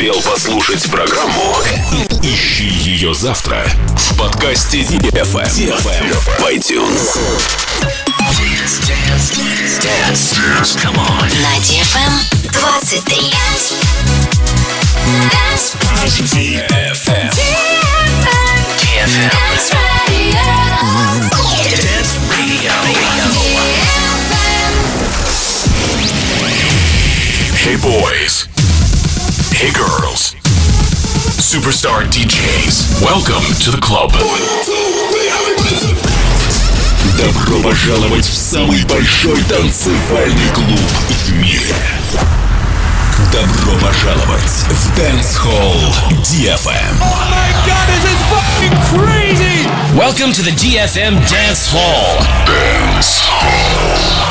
успел послушать программу, ищи ее завтра в подкасте DFM в iTunes. Dance. Come on. На DFM 23. DFM. Dance Radio. Dance Radio. Hey boys. Hey girls. Superstar DJs. Welcome to the club. Добро пожаловать в самый большой танцевальный клуб в мире. Добро пожаловать в Dance Hall DFM. Oh my God, this is fucking crazy! Welcome to the DFM Dance Hall. Dance Hall.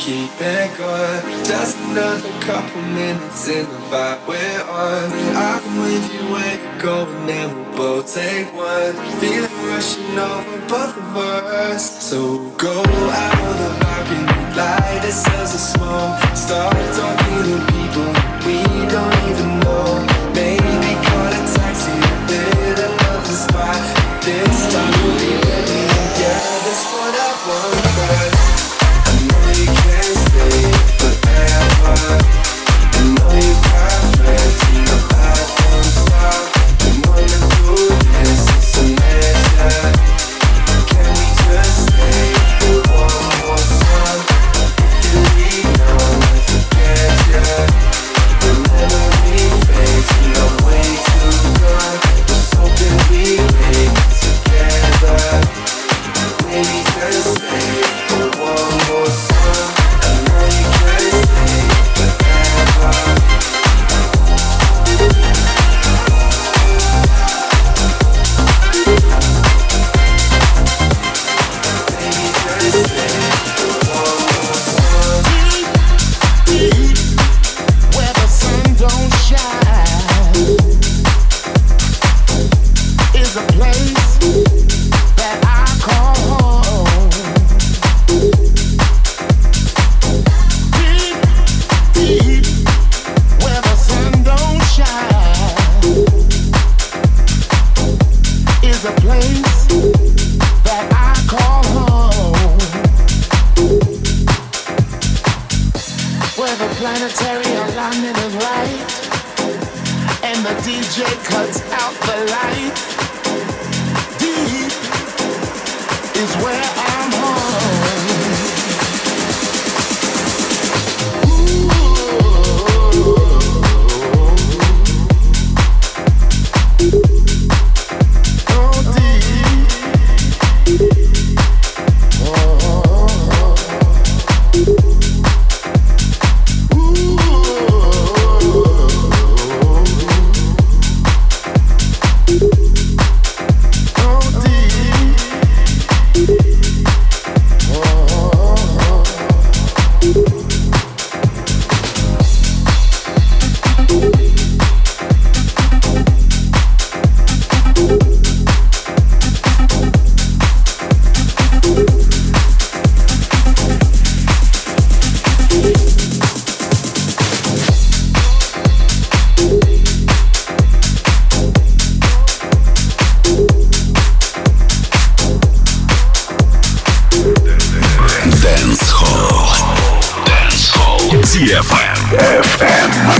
keep it going. Just another couple minutes in the vibe we're on. I can with you where you're going, and we'll both take one. Feeling rushing over both of us. So go out on the balcony, light ourselves a smoke. Start talking to people we don't even know. Maybe call a taxi, hit another spot. This time we'll be ready. Yeah, that's what I want. 'Cause I know you can't stay forever. I know you got friends, you know I don't stop. We wanna do this, it's a measure. Can we just stay for one more song? If you leave now, I forget ya. The memory fades, and I'm way too gone. Just hoping we make it together. Maybe just stay for one more song. I know you can't stay forever. Maybe just stay for one more song. Deep where the sun don't shine is a place that I call home. Deep where the sun don't shine is a place that I call home. Where the planetary alignment is right and the DJ cuts out the light. Deep is where I'm home. Oh, deep. DFM.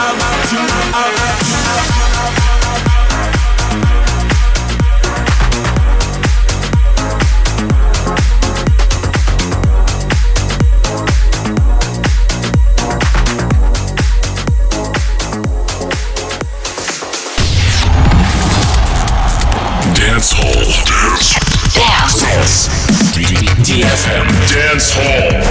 DFM Dance Hall.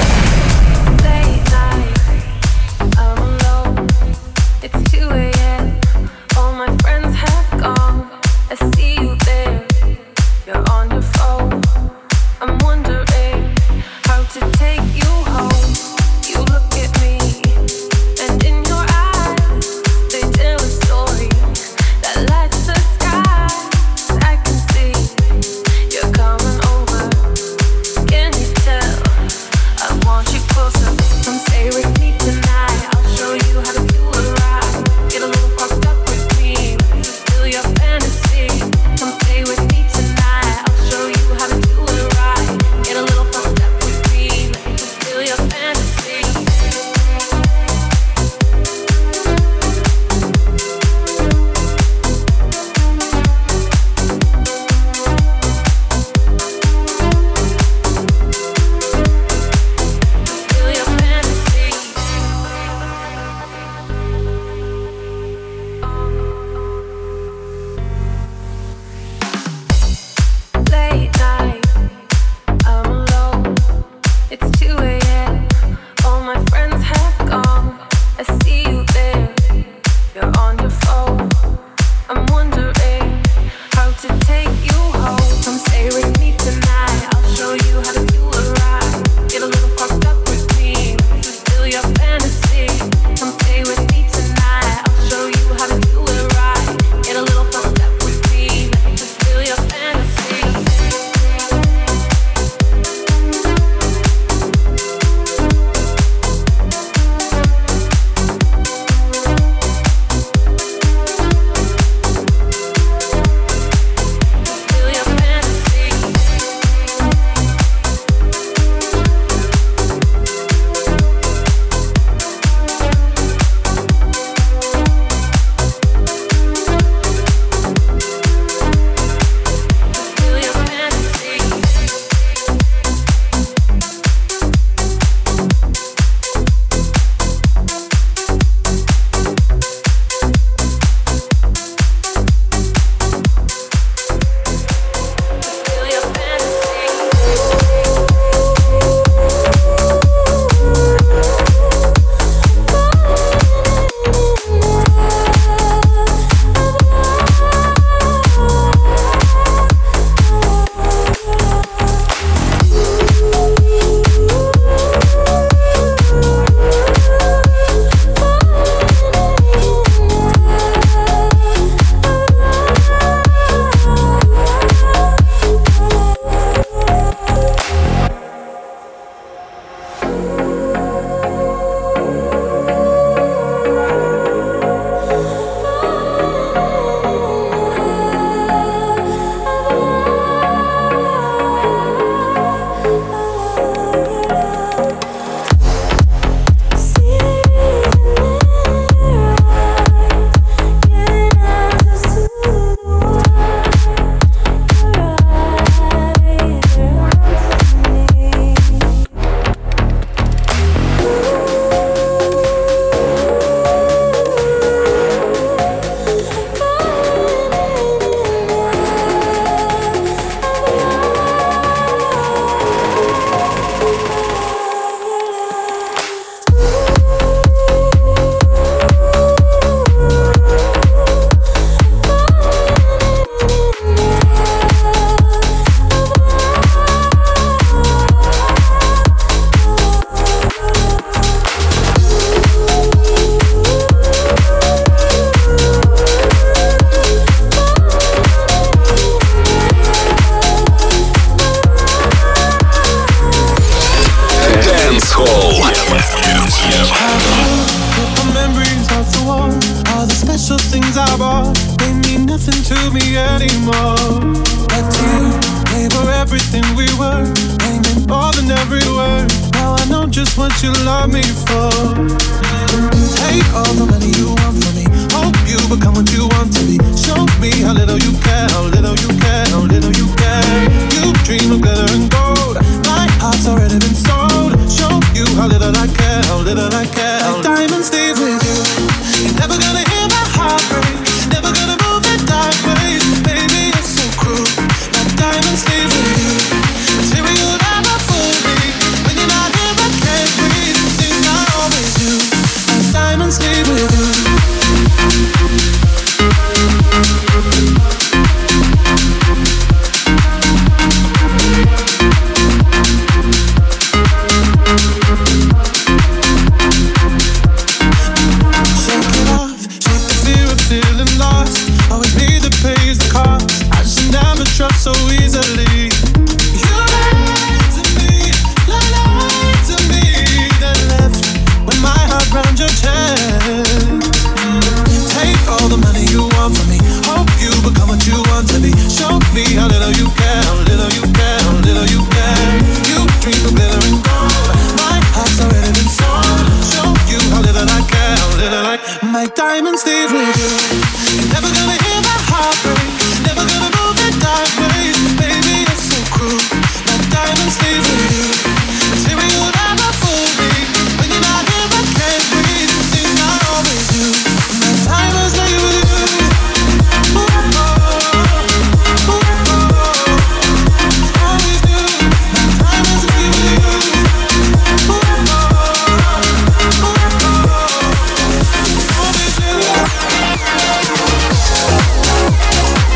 Just what you love me for. Take all the money you want. My diamonds stay with you. You're never gonna hear my heartbreak. Never gonna move in dark ways. Baby, you're so cruel. My diamonds stay with you. Material never fool me. When you're not here, I can't breathe. Think I always do. My diamonds stay with you. Ooh, oh, ooh, oh, always do. My diamonds stay with you. Ooh, oh, ooh, oh. Always do.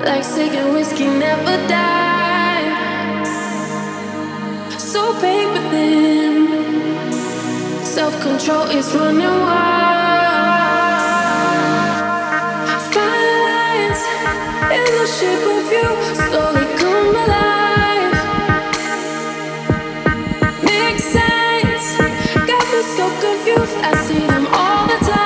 like saying whiskey never died. So pain within, self-control is running wild. Fine lines in the shape of you slowly come alive. Mixed signs got me so confused. I see them all the time.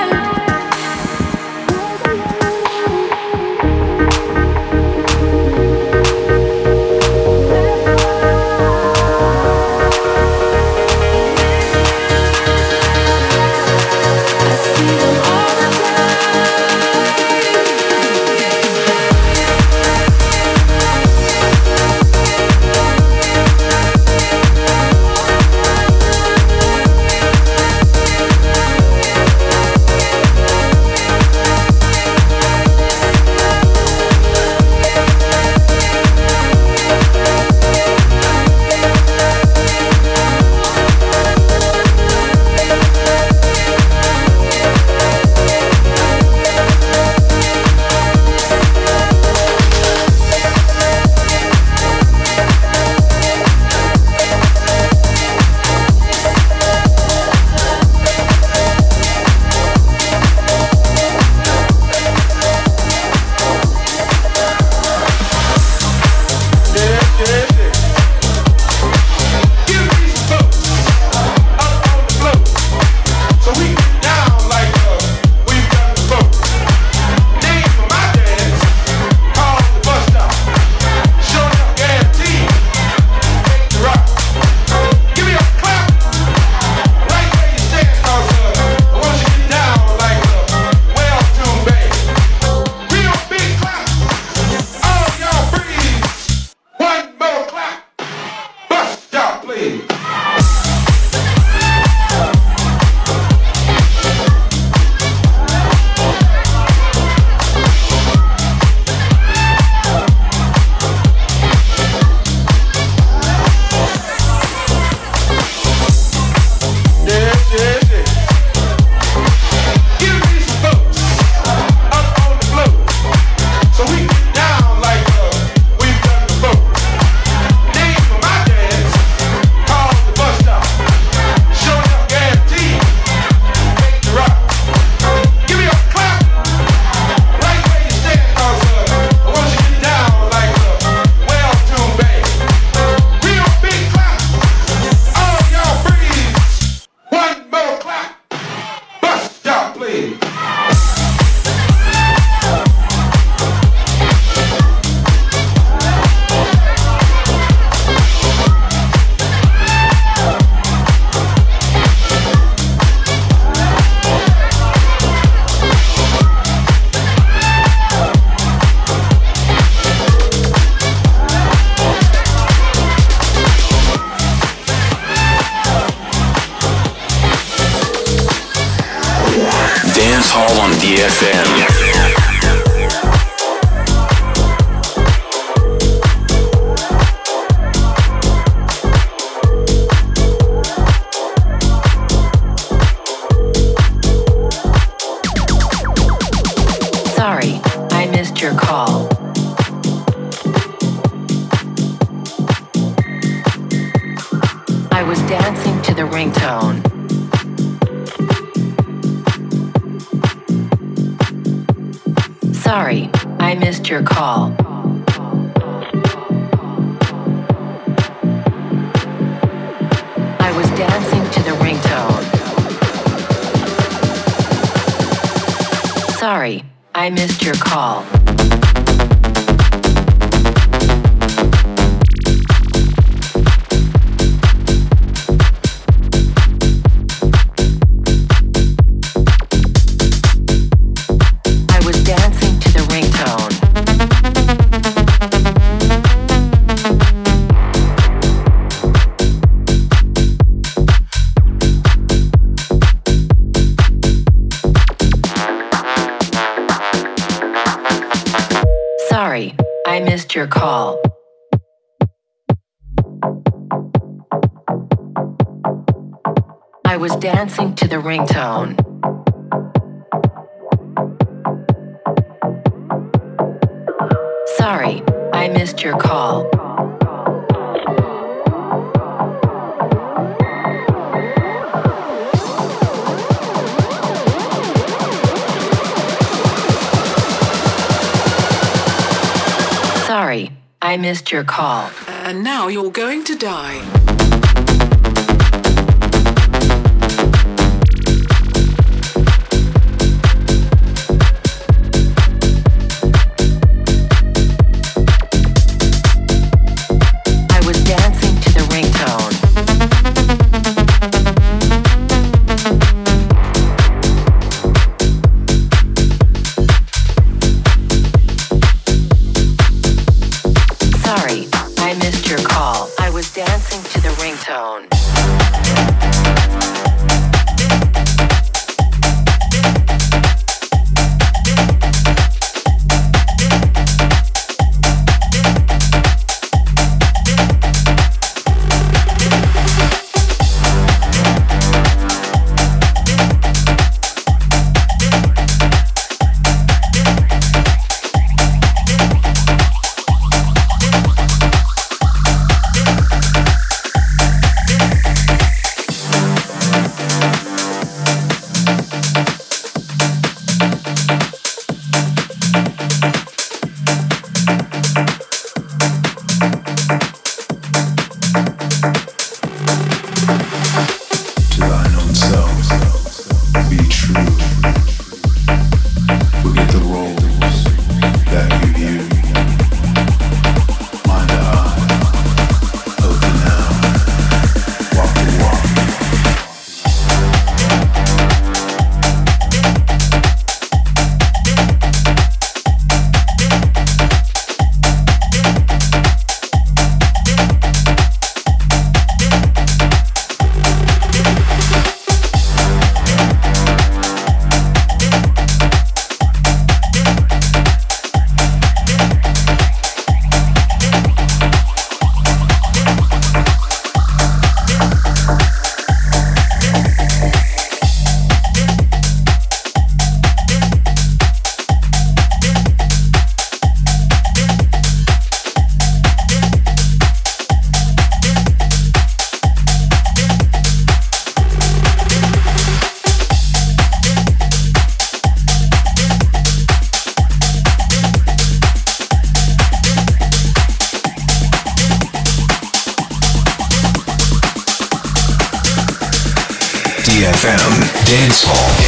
Dance Hall on DFM. Sorry, I missed your call. I was dancing to the ringtone. Sorry, I missed your call. I was dancing to the ringtone. Sorry, I missed your call. Sorry, I missed your call. I was dancing to the ringtone. Sorry, I missed your call. Sorry, I missed your call. And now you're going to die. DFM Dance Hall.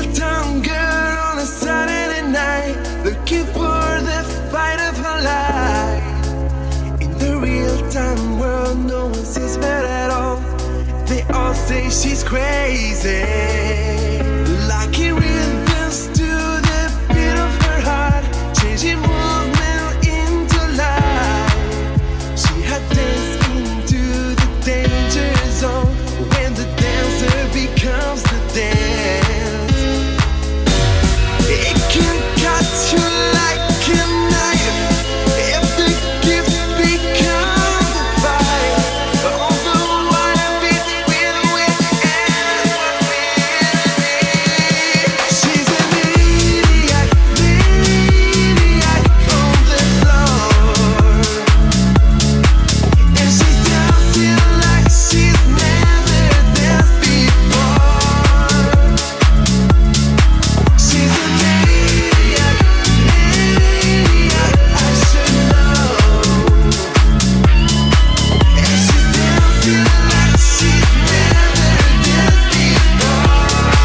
real town girl on a Saturday night, looking for the fight of her life. In the real time world, no one sees her at all. They all say she's crazy. Like it rhythms to the beat of her heart, changing movement into life. She had danced into the danger zone when the dancer becomes the dance. It can cut you like a knife if the gift becomes a fight. All the wire between we and what we. She's an maniac, maniac on the floor, and she's dancing like she's never danced before. She's a maniac, maniac, I should know. And she's dancing like she's never danced before.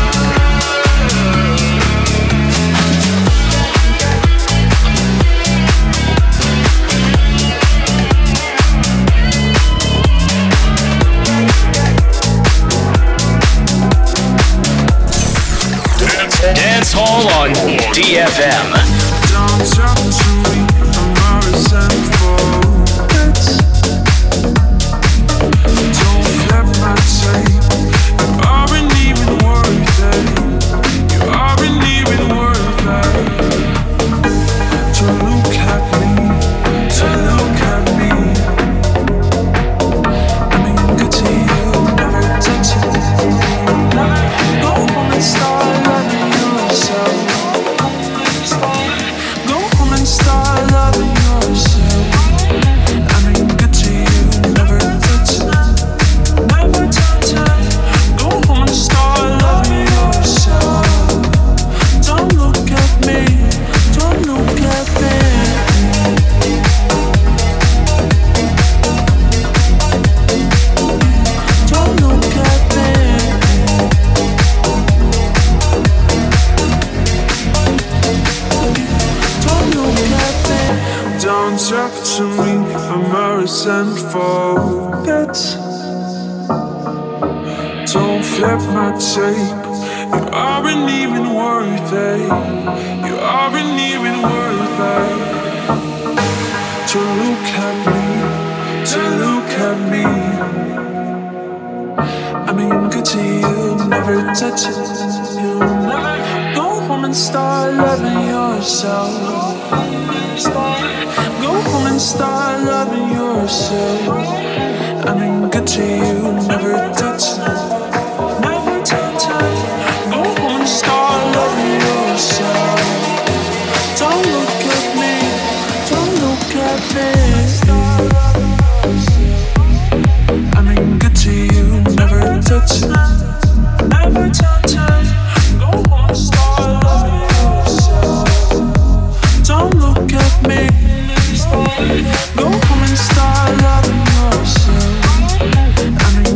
Dance Hall on DFM. Don't talk to me, I'm a resentful bitch. Don't flip my tape, you aren't even worth it. You aren't even worth it. To look at me, to look at me. I mean, good to you, never touch it. Go home and start loving yourself. Go home and start loving yourself. I mean, good to you, never touch it. Never touch it. Go home and start loving yourself. Don't look at me. Don't look at me. Don't look at me. Don't look at me. Don't talk to me, I'm a resentful bitch. Don't flip my tape, you aren't even worth it. You aren't even worth it. To look at me, to look at me. I mean, good to you, never touch it. You never go home and start loving yourself. Go home and start loving yourself. I mean, good to you, never touch it. Never touch it. Go home and start loving yourself. Don't look at me. Don't look at me. I mean, good to you, never touch it. Never touch it. Go home and start loving yourself. Don't look at me. Go home and start loving yourself. I mean,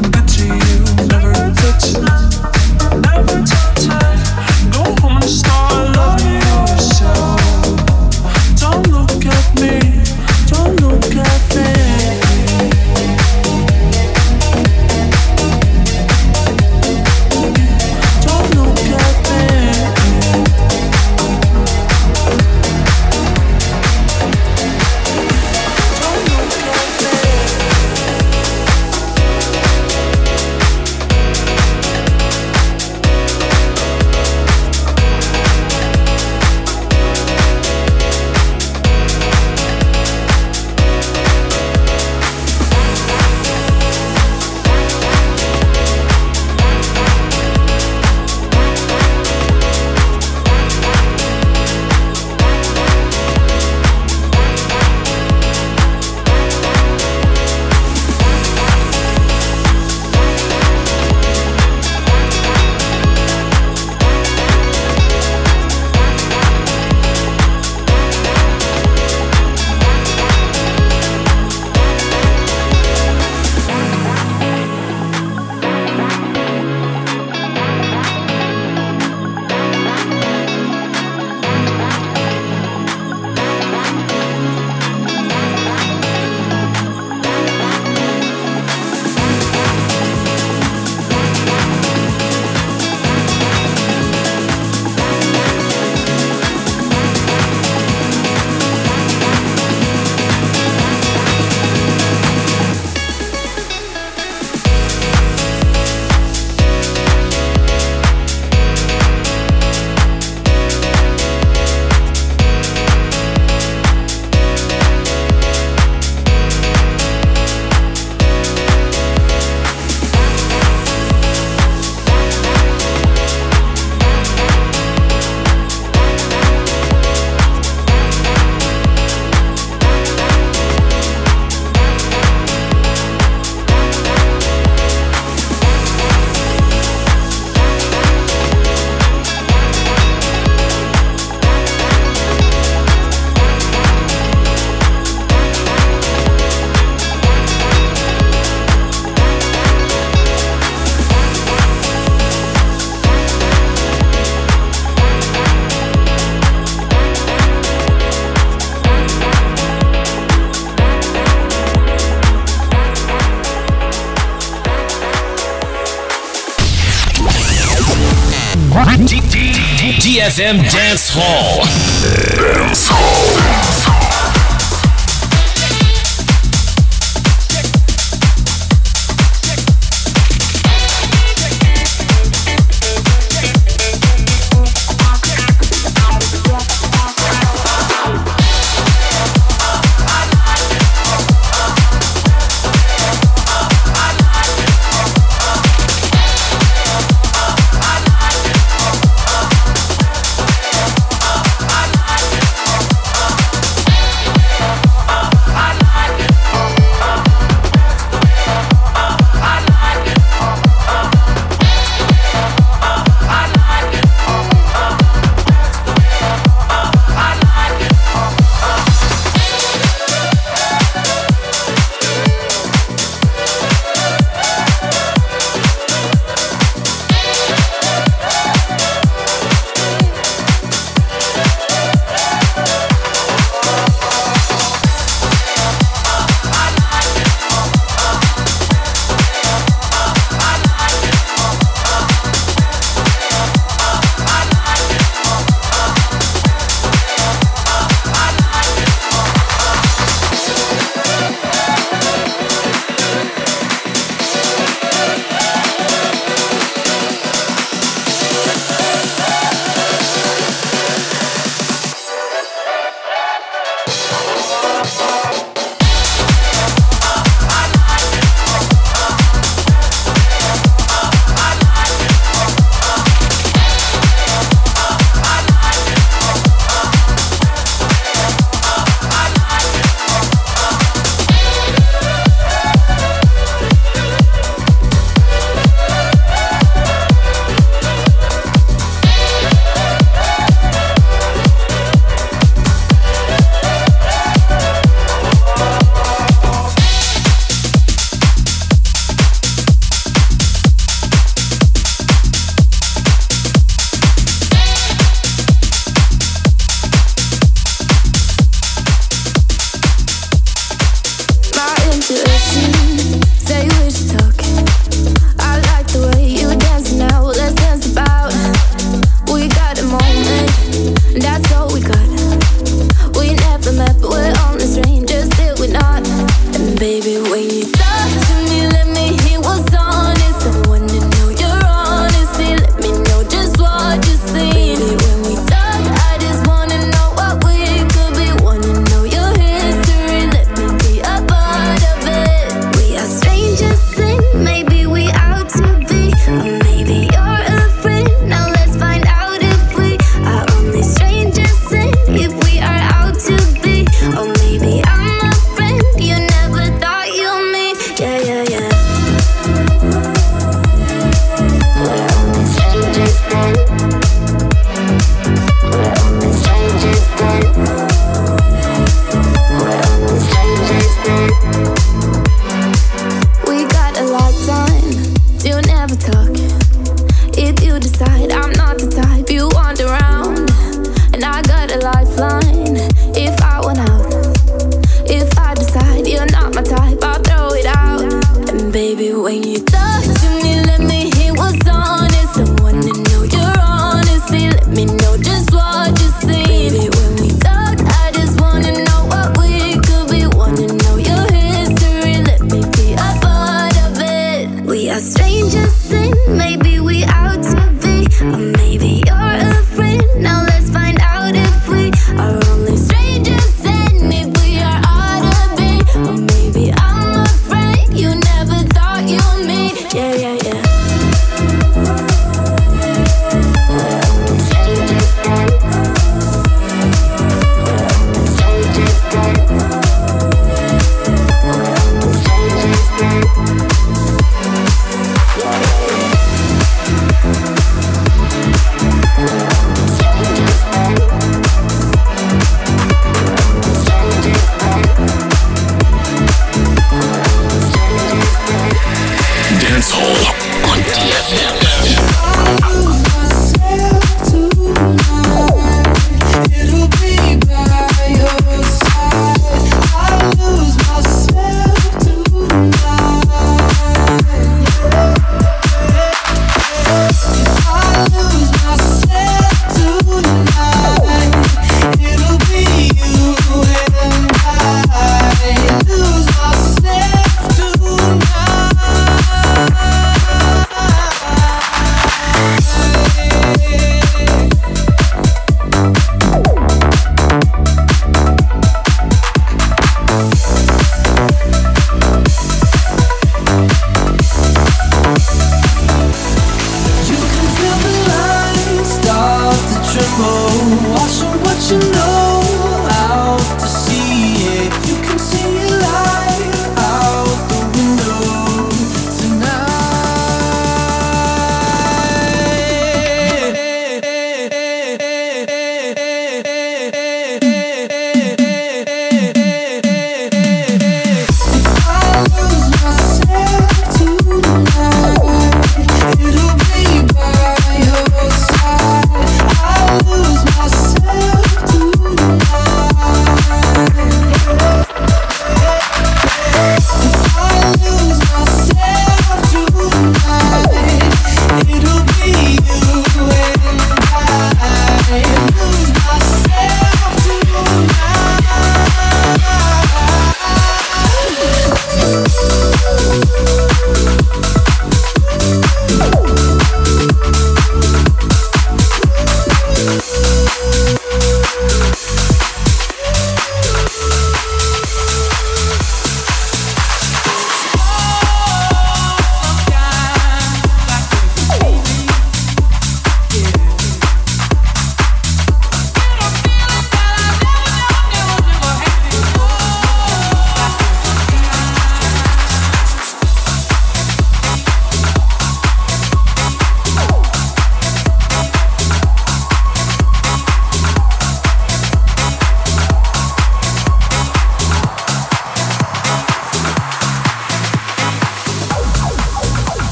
DFM Dance Hall. Dance Hall.